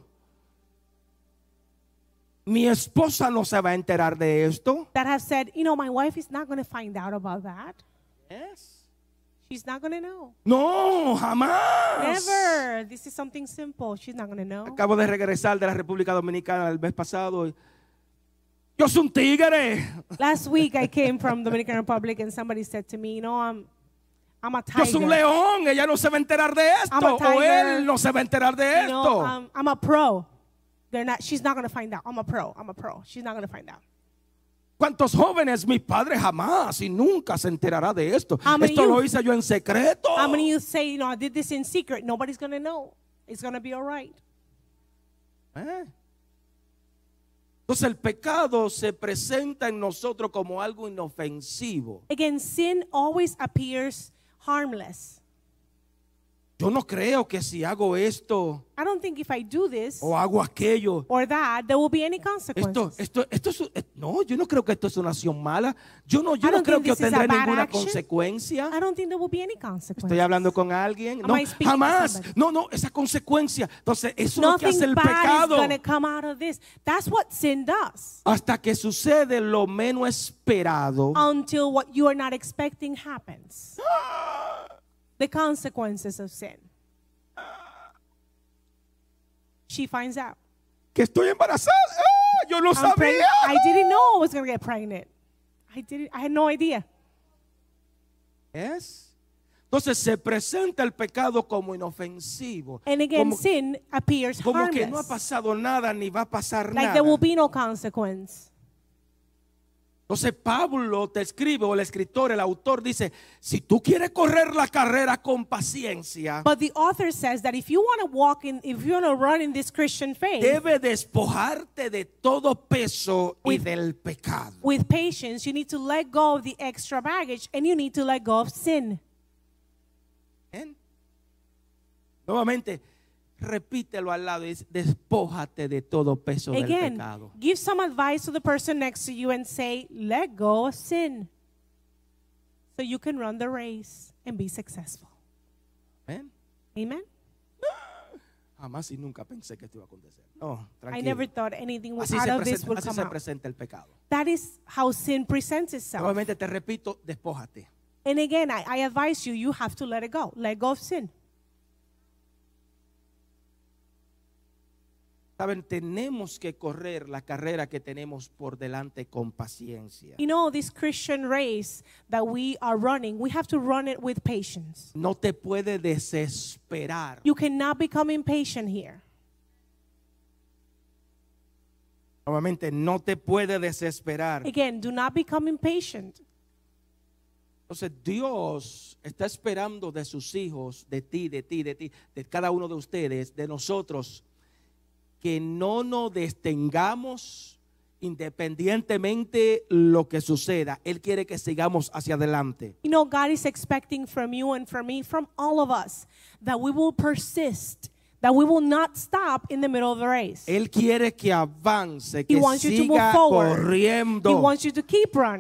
mi esposa no se va a enterar de esto? that have said, you know, my wife is not going to find out about that. Yes. She's not going to know. No, jamás. Never. This is something simple. She's not going to know. Acabo de regresar de la República Dominicana el mes pasado. y Yo soy un tigre. Last week I came from Dominican Republic and somebody said to me, you know, I'm, I'm a Yo soy un tiger. león. Ella no se va a enterar de I'm a esto. O tiger. él no se va a enterar de You know, esto. um, I'm a pro. They're not. She's not going to find out. I'm a pro. I'm a pro. She's not going to find out. ¿Cuántos jóvenes? Mi padre jamás y nunca se enterará de esto. How many Esto lo youth? hice yo en secreto. How many of you say, you know, I did this in secret? Nobody's going to know. It's going to be all right. ¿Eh? Entonces el pecado se presenta en nosotros como algo inofensivo. Again, sin always appears harmless. Yo no creo que si hago esto I don't think if I do this o hago aquello, or that, there will be any esto, consequences. esto, esto es, eh, no, yo no creo que esto es una acción mala. Yo no, yo I no don't creo think que yo this is tendré a bad ninguna action. consecuencia. I don't think there will be any consequences. Estoy hablando con alguien. Am No, I speaking to jamás. somebody? No, no, esa consecuencia. Entonces, eso es lo que hace Nothing el bad is pecado. going to come out of this. That's what sin does. Hasta que sucede lo menos esperado. Until what you are not expecting happens. The consequences of sin. She finds out. Que estoy embarazada. ¡Ah! Yo no I'm sabía. pregnant. I didn't know I was going to get pregnant. I didn't. I had no idea. Yes. Entonces se presenta el pecado como inofensivo. And again, como, sin appears como harmless. que no ha pasado nada ni va a pasar Like nada. there will be no consequence. Entonces Pablo te escribe, o el escritor, el autor dice, si tú quieres correr la carrera con paciencia, But the author says that if you want to walk in, if you want to run in this Christian faith debe despojarte de todo peso y With- del pecado. with patience, you need to let go of the extra baggage and you need to let go of sin. ¿Ven? Nuevamente, repítelo al lado, es despójate de todo peso del Again, pecado. give some advice to the person next to you and say, let go of sin so you can run the race and be successful. ¿Ven? Amen? Jamás y nunca pensé que esto iba a acontecer. No, I tranquilo. never thought anything Así out se, of this presenta, would así come se out. presenta el pecado. That is how sin presents itself. Nuevamente te repito, despójate. And again, I, I advise you, you have to let it go. Let go of sin. Saben, tenemos que correr la carrera que tenemos por delante con paciencia. You know, this Christian race that we are running, we have to run it with patience. No te puede desesperar. You cannot become impatient here. Nuevamente, no te puede desesperar. Again, do not become impatient. Entonces Dios está esperando de sus hijos, de ti, de ti, de ti, de cada uno de ustedes, de nosotros, que no nos detengamos independientemente lo que suceda. Él quiere que sigamos hacia adelante. You know, God is expecting from you and from me, from all of us, that we will persist, that we will not stop in the middle of the race. Él quiere que avance, He que wants you to move siga forward. corriendo. He wants you to keep running.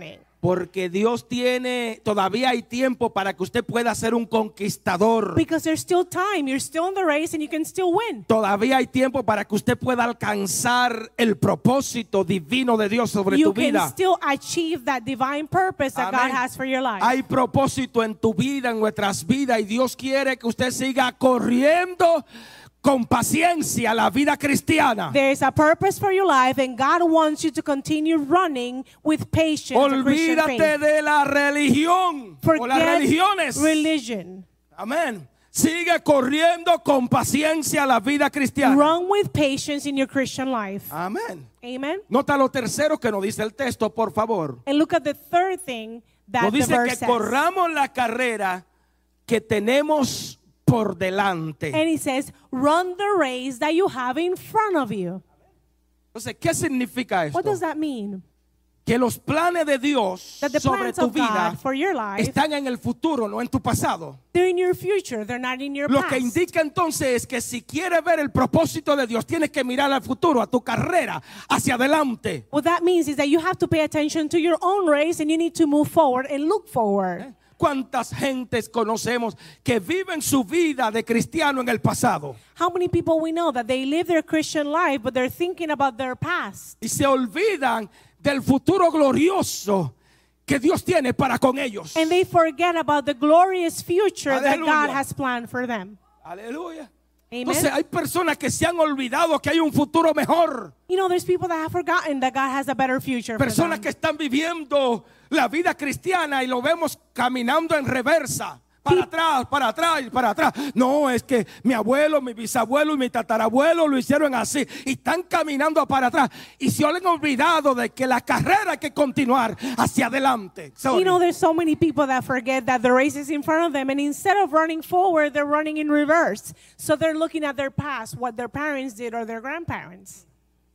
Porque Dios tiene, todavía hay tiempo para que usted pueda ser un conquistador. Because there's still time. You're still in the race and you can still win. Todavía hay tiempo para que usted pueda alcanzar el propósito divino de Dios sobre You tu can vida. still achieve that divine purpose that Amén. God has for your life. Hay propósito en tu vida, en nuestras vidas, y Dios quiere que usted siga corriendo con paciencia la vida cristiana. There is a purpose for your life, and God wants you to continue running with patience. the Christian Olvídate faith. de la religión o las Forget religiones. religion. Amén. Sigue corriendo con paciencia la vida cristiana. Run with patience in your Christian life. Amén. Amen. Nota lo tercero que nos dice el texto, por favor. And look at the third thing that Nos the dice verse que says. corramos la carrera que tenemos por delante. And he says, run the race that you have in front of you. Entonces, ¿qué significa esto? What does that mean? Que los planes de Dios That the sobre plans tu of vida God for your life, están en el futuro, no en tu pasado. they're in your future. They're not in your Lo past. que indica entonces es que si quieres ver el propósito de Dios, tienes que mirar al futuro, a tu carrera, hacia adelante. What that means is that you have to pay attention to your own race and you need to move forward and look forward. ¿Cuántas gentes conocemos que viven su vida de cristiano en el pasado How many people we know that they live their Christian life, but they're thinking about their past? y se olvidan del futuro glorioso que Dios tiene para con ellos? And they forget about the glorious future that Aleluya. God has planned for them. Aleluya. Amen. Entonces hay personas que se han olvidado que hay un futuro mejor. You know, there's people that have forgotten that God has a better future for Personas them. que están viviendo la vida cristiana y lo vemos caminando en reversa. Para atrás, para atrás y para atrás. No, es que mi abuelo, mi bisabuelo y mi tatarabuelo lo hicieron así. Y están caminando para atrás. Y se han olvidado de que la carrera hay que continuar hacia adelante. Sorry. You know, there's so many people that forget that the race is in front of them, and instead of running forward, they're running in reverse. So they're looking at their past, what their parents did or their grandparents.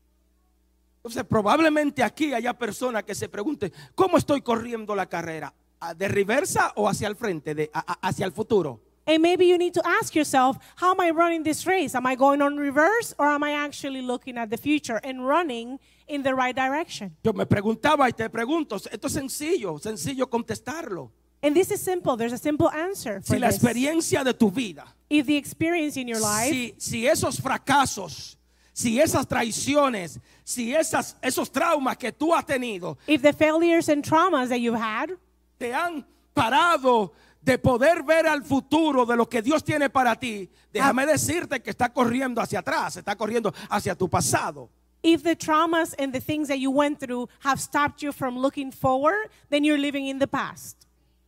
Entonces probablemente aquí haya personas que se pregunten, ¿cómo estoy corriendo la carrera? ¿De reversa o hacia el frente, de, a, a, hacia el futuro? And maybe you need to ask yourself, how am I running this race? Am I going on reverse, or am I actually looking at the future and running in the right direction? Yo me preguntaba y te pregunto, esto es sencillo, sencillo contestarlo. And this is simple. There's a simple answer for Si la this. experiencia de tu vida, If the experience in your life, si, si esos fracasos, si esas traiciones, si esas, esos traumas que tú has tenido, if the failures and traumas that you've had, te han parado de poder ver al futuro de lo que Dios tiene para ti, déjame decirte que está corriendo hacia atrás, está corriendo hacia tu pasado. if the traumas and the things that you went through have stopped you from looking forward, then you're living in the past.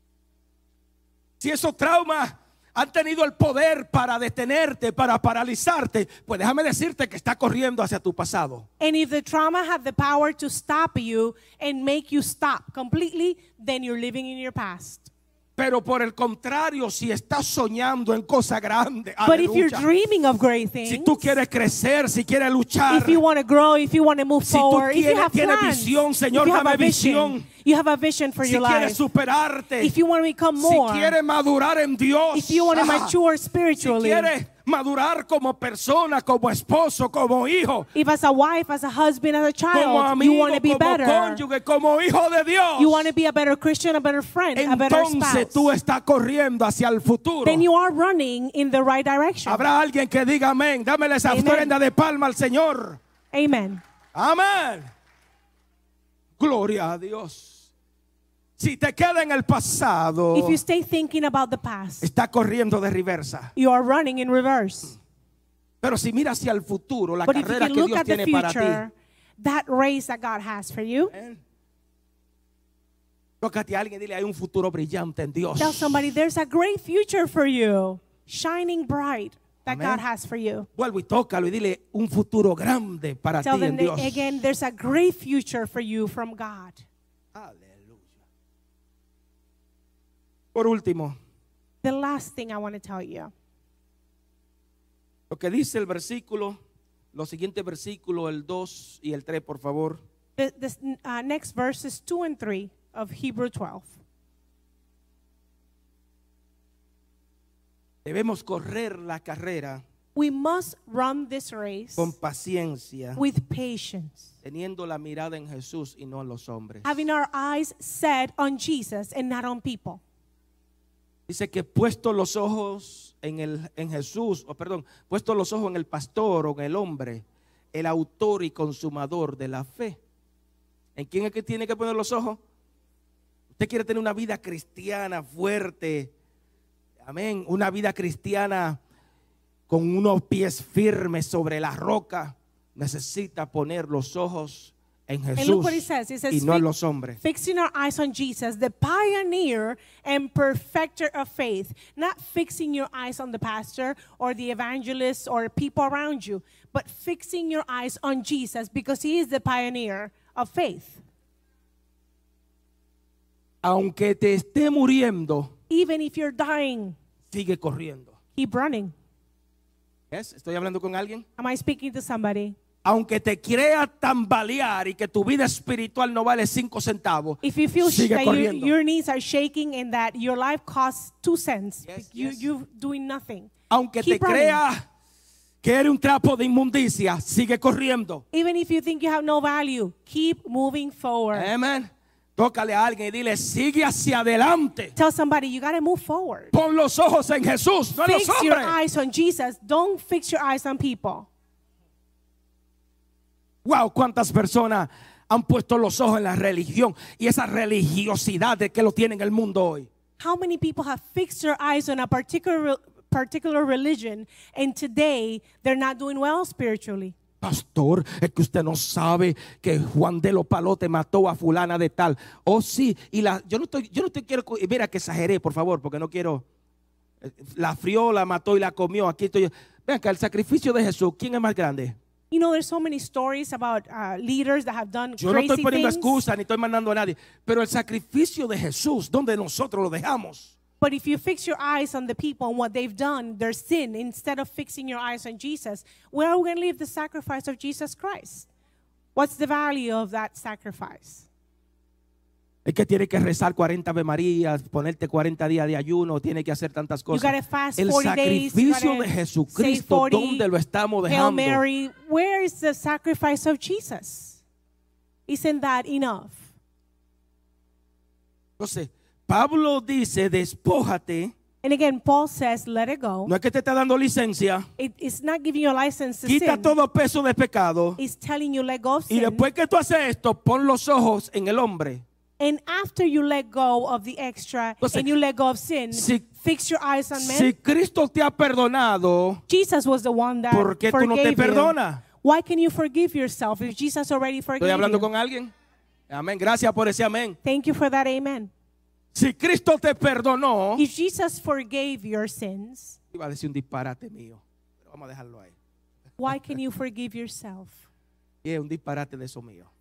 Si esos traumas han tenido el poder para detenerte, para paralizarte, pues déjame decirte que está corriendo hacia tu pasado. And if the trauma had the power to stop you and make you stop completely, then you're living in your past. Pero por el contrario, si estás soñando en cosas grandes, But if you're aleluya, dreaming of great si things, tú quieres crecer, si quieres luchar, if you want to grow, if you want to move Si tú forward, if you quieres- have tienes plans, visión, Señor, if you have dame a vision, visión. you have a vision for si your quieres life, superarte, if you want to become si more, quieres madurar en Dios, if you want to ah, mature si spiritually, quieres madurar como persona, como esposo, como hijo, if as a wife, as a husband, as a como child, amigo, you want to be como better, cónyuge, como hijo de Dios, you want to be a better Christian, a better friend, a better entonces spouse, tú estás corriendo hacia el futuro. then you are running in the right direction. Habrá alguien que diga amén. Dámele esa Amen. ofrenda de palma al Señor. Amen. Amén. Gloria a Dios. Si te queda en el pasado, If you stay thinking about the past, está corriendo de reversa. you are running in reverse. Pero si miras hacia el futuro, la But if you carrera can que look Dios at the tiene para ti, future, that race that God has for you, tócate a alguien y dile, hay un futuro brillante en Dios. tell somebody there's a great future for you, shining bright, that Amen. God has for you. Vuelvo y tócalo y dile, un futuro grande para Tell ti en them Dios. that, again, there's a great future for you from God. Aleluya. Por último, The last thing I want to tell you, lo que dice el versículo, los siguientes versículos, el dos y el tres, por favor. the, this, uh, next verses two and three of Hebrew twelve. Debemos correr la carrera We must run this race con paciencia, with patience, teniendo la mirada en Jesús y no en los hombres. having our eyes set on Jesus and not on people. Dice que puesto los ojos en, el, en Jesús, o perdón, puesto los ojos en el pastor o en el hombre, el autor y consumador de la fe. ¿En quién es que tiene que poner los ojos? Usted quiere tener una vida cristiana fuerte, amén, una vida cristiana con unos pies firmes sobre la roca, necesita poner los ojos en And look Jesús what it says. It says, y no en "Fi- los hombres. fixing our eyes on Jesus, the pioneer and perfecter of faith." Not fixing your eyes on the pastor or the evangelist or people around you, but fixing your eyes on Jesus because he is the pioneer of faith. Aunque te esté muriendo, Even if you're dying, sigue corriendo. keep running. ¿Ves? ¿Estoy hablando con alguien? Am I speaking to somebody? Aunque te crea tambalear y que tu vida espiritual no vale cinco centavos, If you feel sh- sigue that your, corriendo. your knees are shaking and that your life costs two cents, Yes, you, yes. you're doing nothing. Aunque te Keep running. crea que eres un trapo de inmundicia, sigue corriendo. Even if you think you have no value, keep moving forward. Amén. Tócale a alguien y dile, sigue hacia adelante. Tell somebody you got to move forward. Pon los ojos en Jesús, no en los Fix your hombres. eyes on Jesus. Don't fix your eyes on people. Wow, cuántas personas han puesto los ojos en la religión y esa religiosidad de que lo tiene en el mundo hoy. How many people have fixed their eyes on a particular particular religion and today they're not doing well spiritually? Pastor, es que usted no sabe que Juan de los Palotes mató a fulana de tal. Oh, sí, y la, yo no estoy, yo no estoy quiero, mira que exageré, por favor, porque no quiero. La frió, la mató y la comió. Aquí estoy. Vean que el sacrificio de Jesús, ¿quién es más grande? You know, there's so many stories about uh, leaders that have done Yo no crazy estoy poniendo things. excusa ni estoy mandando a nadie, pero el sacrificio de Jesús, ¿dónde nosotros lo dejamos? But if you fix your eyes on the people and what they've done, their sin, instead of fixing your eyes on Jesus, where are we going to leave the sacrifice of Jesus Christ? What's the value of that sacrifice? Es que tiene que rezar cuarenta Ave Marías, ponerte cuarenta días de ayuno, tiene que hacer tantas You cosas. got to fast El forty days. You sacrificio de gotta say Jesucristo, forty, ¿dónde lo estamos Hail dejando? Mary. Where is the sacrifice of Jesus? Isn't that enough? Entonces, Pablo dice, despójate. And again, Paul says, let it go. No es que te está dando licencia. It, it's not giving you a license to Quita sin. todo peso de pecado. It's telling you let go of Y sin. después que tú haces esto, pon los ojos en el hombre. And after you let go of the extra Entonces, and you let go of sin, si- fix your eyes on men. Si Cristo te ha perdonado, Jesus was the one that ¿por qué tú no te forgave you. perdonas? Why can you forgive yourself if Jesus already forgave ¿Estoy hablando you? con alguien? Amén. Gracias por ese amén. Thank you for that amen. Si Cristo te perdonó, If Jesus forgave your sins, iba a decir un disparate mío, pero vamos a dejarlo ahí. why can you forgive yourself? Y es un disparate de eso mío.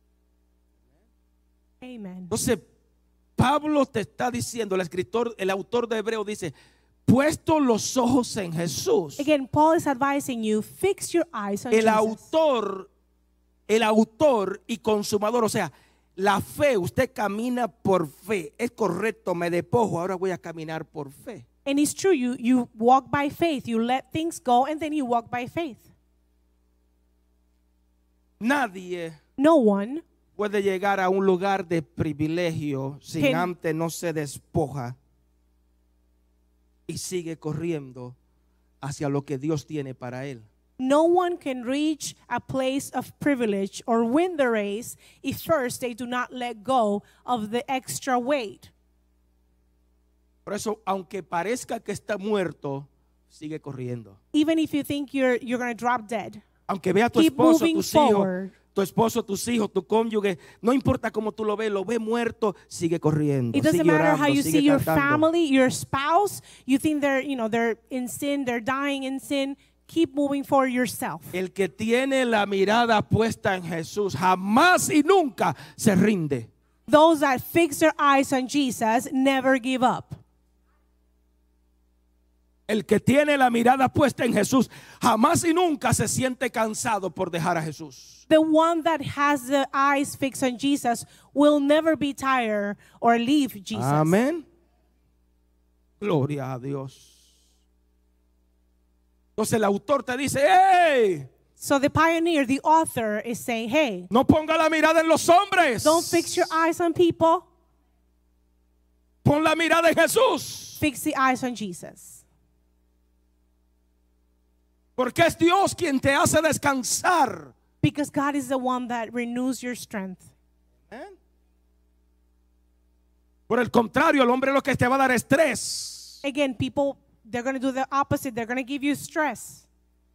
Amen. Entonces, Pablo te está diciendo, el escritor, el autor de Hebreo dice, puesto los ojos en Jesús. Again, Paul is advising you, fix your eyes on El Jesus. autor, el autor y consumador, o sea, la fe, usted camina por fe. Es correcto, me despojo, ahora voy a caminar por fe. And it's true, you, you walk by faith. You let things go and then you walk by faith. Nadie No one puede llegar a un lugar de privilegio sin Can- antes no se despoja y sigue corriendo hacia lo que Dios tiene para él. No one can reach a place of privilege or win the race if first they do not let go of the extra weight. Por eso, aunque parezca que está muerto, sigue corriendo. Even if you think you're, you're going to drop dead. Aunque vea a tu Keep esposo, moving tus forward. hijos, tu esposo, tus hijos, tu cónyuge, no importa cómo tú lo ves, lo ves muerto, sigue corriendo, It doesn't sigue matter orando, how you sigue see your cantando. family, your spouse, you think they're, you know, they're in sin, they're dying in sin. Keep moving for yourself. El que tiene la mirada puesta en Jesús jamás y nunca se rinde. Those that fix their eyes on Jesus never give up. El que tiene la mirada puesta en Jesús jamás y nunca se siente cansado por dejar a Jesús. The one that has the eyes fixed on Jesus will never be tired or leave Jesus. Amén. Gloria a Dios. Entonces el autor te dice, ¡hey! So the pioneer, the author, is saying, hey, No ponga la mirada en los hombres. don't fix your eyes on people. Pon la mirada en Jesús. Fix the eyes on Jesus. Porque es Dios quien te hace descansar. Because God is the one that renews your strength. ¿Eh? Por el contrario, el hombre lo que te va a dar estrés. Again, people, they're going to do the opposite. They're going to give you stress.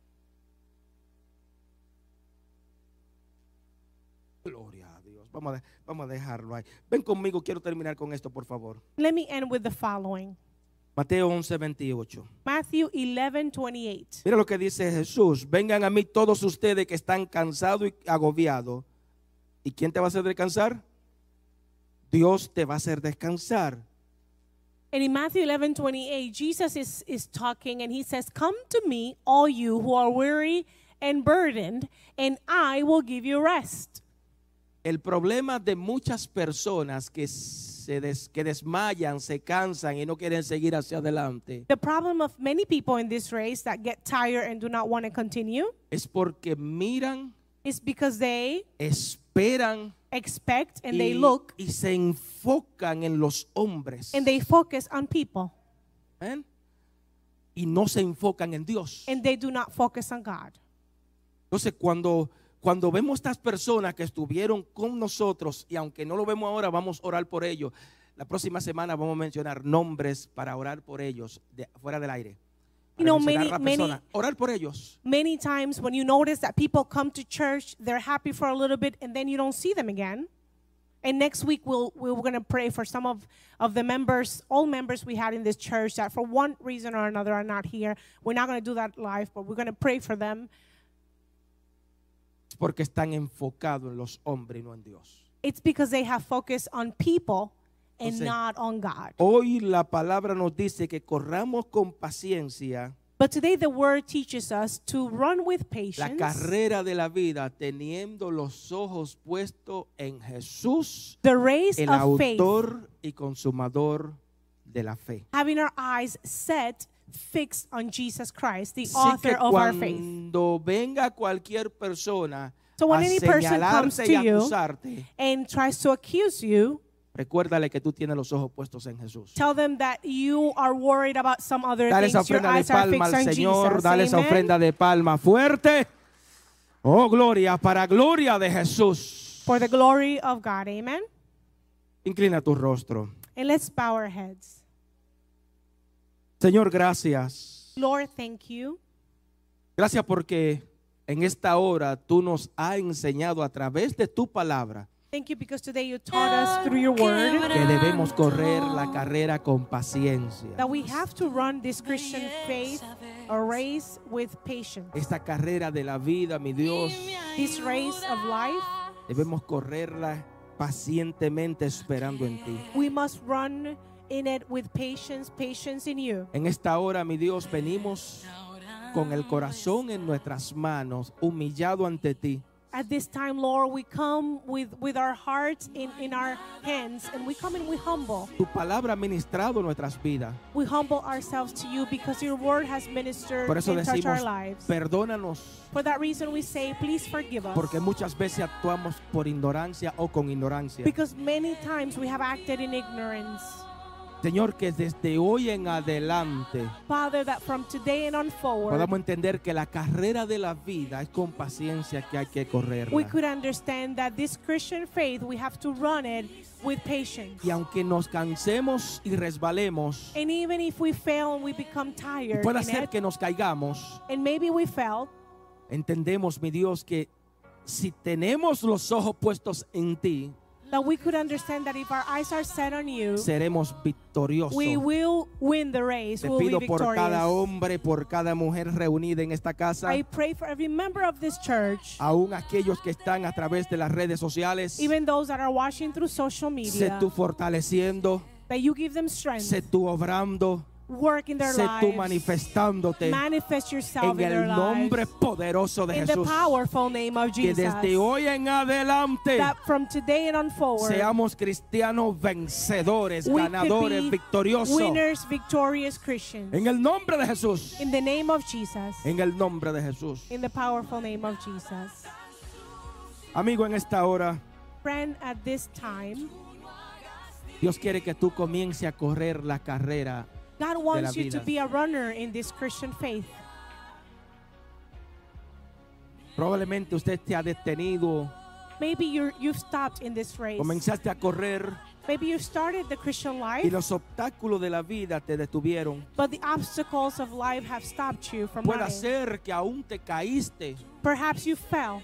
Gloria a Dios. Vamos a, vamos a dejarlo ahí. Ven conmigo, quiero terminar con esto, por favor. Let me end with the following. Mateo once, veintiocho. Matthew eleven twenty-eight. Mira lo que dice Jesús. Vengan a mí todos ustedes que están cansados y agobiados. ¿Y quién te va a hacer descansar? Dios te va a hacer descansar. And in Matthew eleven twenty-eight, Jesus is, is talking and he says, come to me, all you who are weary and burdened, and I will give you rest. El problema de muchas personas que se des, que desmayan, se cansan y no quieren seguir hacia adelante The problem of many people in this race that get tired and do not want to continue es porque miran, is because they esperan expect and y, they look y se enfocan en los hombres. and they focus on people ¿Ven? Y no se enfocan en Dios. and they do not focus on God. Entonces cuando, cuando vemos estas personas que estuvieron con nosotros, y aunque no lo vemos ahora, vamos a orar por ellos. La próxima semana vamos a mencionar nombres para orar por ellos de, fuera del aire. You Para know, mencionar many, a la many, persona. Orar por ellos. many times when you notice that people come to church, they're happy for a little bit and then you don't see them again. And next week we'll, we're going to pray for some of, of the members, all members we had in this church that for one reason or another are not here. We're not going to do that live, but we're going to pray for them. Porque están enfocados en los hombres y no en Dios. It's because they have focused on people and Entonces, not on God. Hoy la palabra nos dice que corramos con paciencia But today the word teaches us to run with la patience carrera de la vida teniendo los ojos puestos en Jesús, the race el of faith, autor y consumador de la fe. having our eyes set, fixed on Jesus Christ, the Así author que of our faith. cuando venga cualquier persona So when a any person comes señalarte to y you acusarte, and tries to accuse you, recuérdale que tú tienes los ojos puestos en Jesús. tell them that you are worried about some other Dale esa things. Your ofrenda de eyes are palma fixed al on Señor, Jesus. dale esa Amen. ofrenda de palma fuerte. Oh, gloria, para gloria de Jesús. For the glory of God. Amen. Inclina tu rostro. And let's bow our heads. Señor, gracias. Lord, thank you. Gracias porque en esta hora tú nos has enseñado a través de tu palabra Thank you because today you taught us through your word que debemos correr la carrera con paciencia. that we have to run this Christian faith, a race with patience. Esta carrera de la vida, mi Dios, This race of life, debemos correrla pacientemente esperando en ti. we must run in it with patience, patience in you. En esta hora, mi Dios, venimos con el corazón en nuestras manos, humillado ante ti. At this time, Lord, we come with, with our hearts in, in our hands, and we come and we humble. Tu palabra ha ministrado nuestras vidas. We humble ourselves to you because your word has ministered Por eso and touched our decimos, lives. perdónanos, For that reason, we say, please forgive us. porque muchas veces actuamos por ignorancia o con ignorancia. Because many times we have acted in ignorance. Señor, que desde hoy en adelante Father, that from today and on forward, podamos entender que la carrera de la vida es con paciencia que hay que we correrla. could understand that this Christian faith, we have to run it with patience. Y aunque nos cansemos y resbalemos, And even if we fail and we become y tired pueda in ser it, que nos caigamos, and maybe we fell, entendemos, mi Dios, que si tenemos los ojos puestos en ti, that we could understand that if our eyes are set on you, seremos victoriosos. we will win the race. Te We will pido be por cada victorious. hombre, por cada mujer reunida en esta casa, I pray for every member of this church, aún aquellos que están a través de las redes sociales. even those that are watching through social Sé media, tú fortaleciendo, that you give them strength, sé tú obrando, work in their sé tú lives. manifestándote Manifest yourself en in their el nombre lives. poderoso de In the Jesús. powerful name of Que Jesus. desde hoy en adelante That from today and on forward, seamos cristianos vencedores, we could ganadores, be victoriosos. winners, victorious Christians. En el nombre de Jesús. In the name of Jesus. En el nombre de Jesús. In the powerful name of Jesus. Amigo, en esta hora, Friend, at this time, Dios quiere que tú comiences a correr la carrera. God wants la you to vida. be a runner in this Christian faith. Probablemente usted te ha detenido, Maybe you're, you've stopped in this race. comenzaste a correr Maybe you started the Christian y life, los obstáculos de la vida te detuvieron. but the obstacles of life have stopped you from Puede running. ser que aún te caíste, Perhaps you fell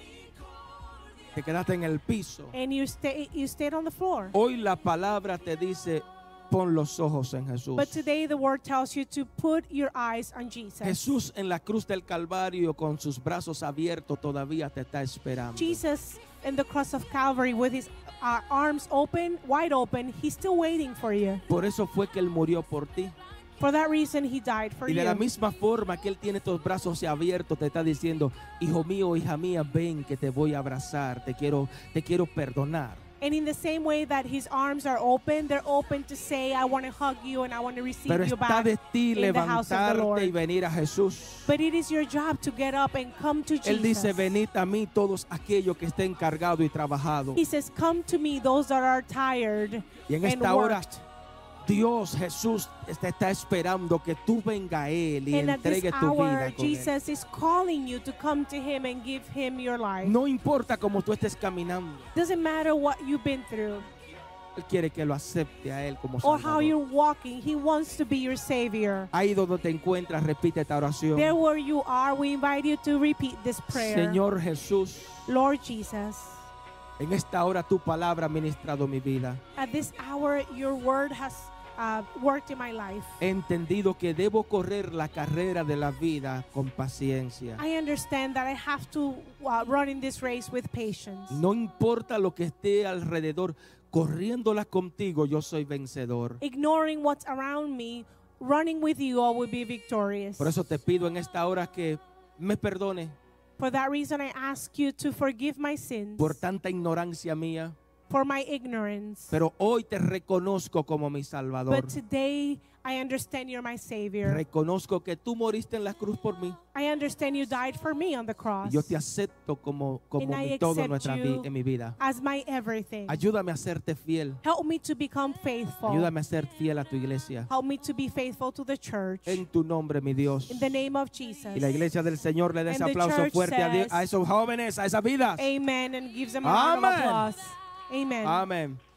te quedaste en el piso. and you, stay, you stayed on the floor. Hoy la palabra te dice, pon los ojos en Jesús. But today the word tells you to put your eyes on Jesus. Jesús en la cruz del Calvario con sus brazos abiertos todavía te está esperando. Jesus in the cross of Calvary with his uh, arms open, wide open, he's still waiting for you. Por eso fue que Él murió por ti. For that reason he died for Y de la you. misma forma que Él tiene estos brazos abiertos, te está diciendo, hijo mío, hija mía, ven que te voy a abrazar, te quiero, te quiero perdonar. And in the same way that his arms are open, they're open to say, I want to hug you and I want to receive Pero you está back de ti in the house of the Lord. levantarte y venir a Jesús. But it is your job to get up and come to Él dice, Jesus. venid a mí todos aquellos que estén cargados y trabajados. He says, come to me, those that are tired Y en and esta hora, worked. Dios, Jesús, te está esperando que tú venga a Él y And at this entregue tu hour, vida con Él. Jesus is calling you to come to him and give him your life. No importa cómo tú estés caminando, Doesn't matter what you've been through Él quiere que lo acepte a Él como or how Salvador. you're walking. He wants to be your Savior. Ahí donde te encuentras, repite esta oración. There where you are, we invite you to repeat this prayer. Señor Jesús, Lord Jesus, en esta hora tu palabra ha ministrado mi vida. at this hour, your word has uh, worked in my life. He entendido que debo correr la carrera de la vida con paciencia. I understand that I have to uh, run in this race with patience. No importa lo que esté alrededor, corriéndola contigo, yo soy vencedor. Ignoring what's around me, running with you, I will be victorious. Por eso te pido en esta hora que me perdone For that reason, I ask you to forgive my sins, por tanta ignorancia mía, for my ignorance. pero hoy te reconozco como mi Salvador. But today, I understand you're my Savior. Reconozco que tú moriste en la cruz por mí. I understand you died for me on the Y cross yo te acepto como, como And I mi todo en, accept nuestra vi- you. en mi vida. as my everything. Ayúdame a serte fiel. Help me to become faithful. Ayúdame a ser fiel a tu iglesia. Help me to be faithful to the church. En tu nombre, mi Dios. In the name of Jesus. Y la iglesia del Señor le dé ese And the aplauso church fuerte a, Dios- says, a esos jóvenes, a esas vidas. Amen. And gives them a round of Amen. applause. Amen. Amén.